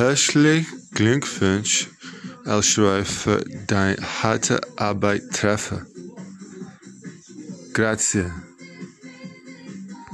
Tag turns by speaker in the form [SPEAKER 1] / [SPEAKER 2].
[SPEAKER 1] Herzlichen Glückwunsch, El-Shaarawy, für deine harte Arbeit. Treffer. Grazie.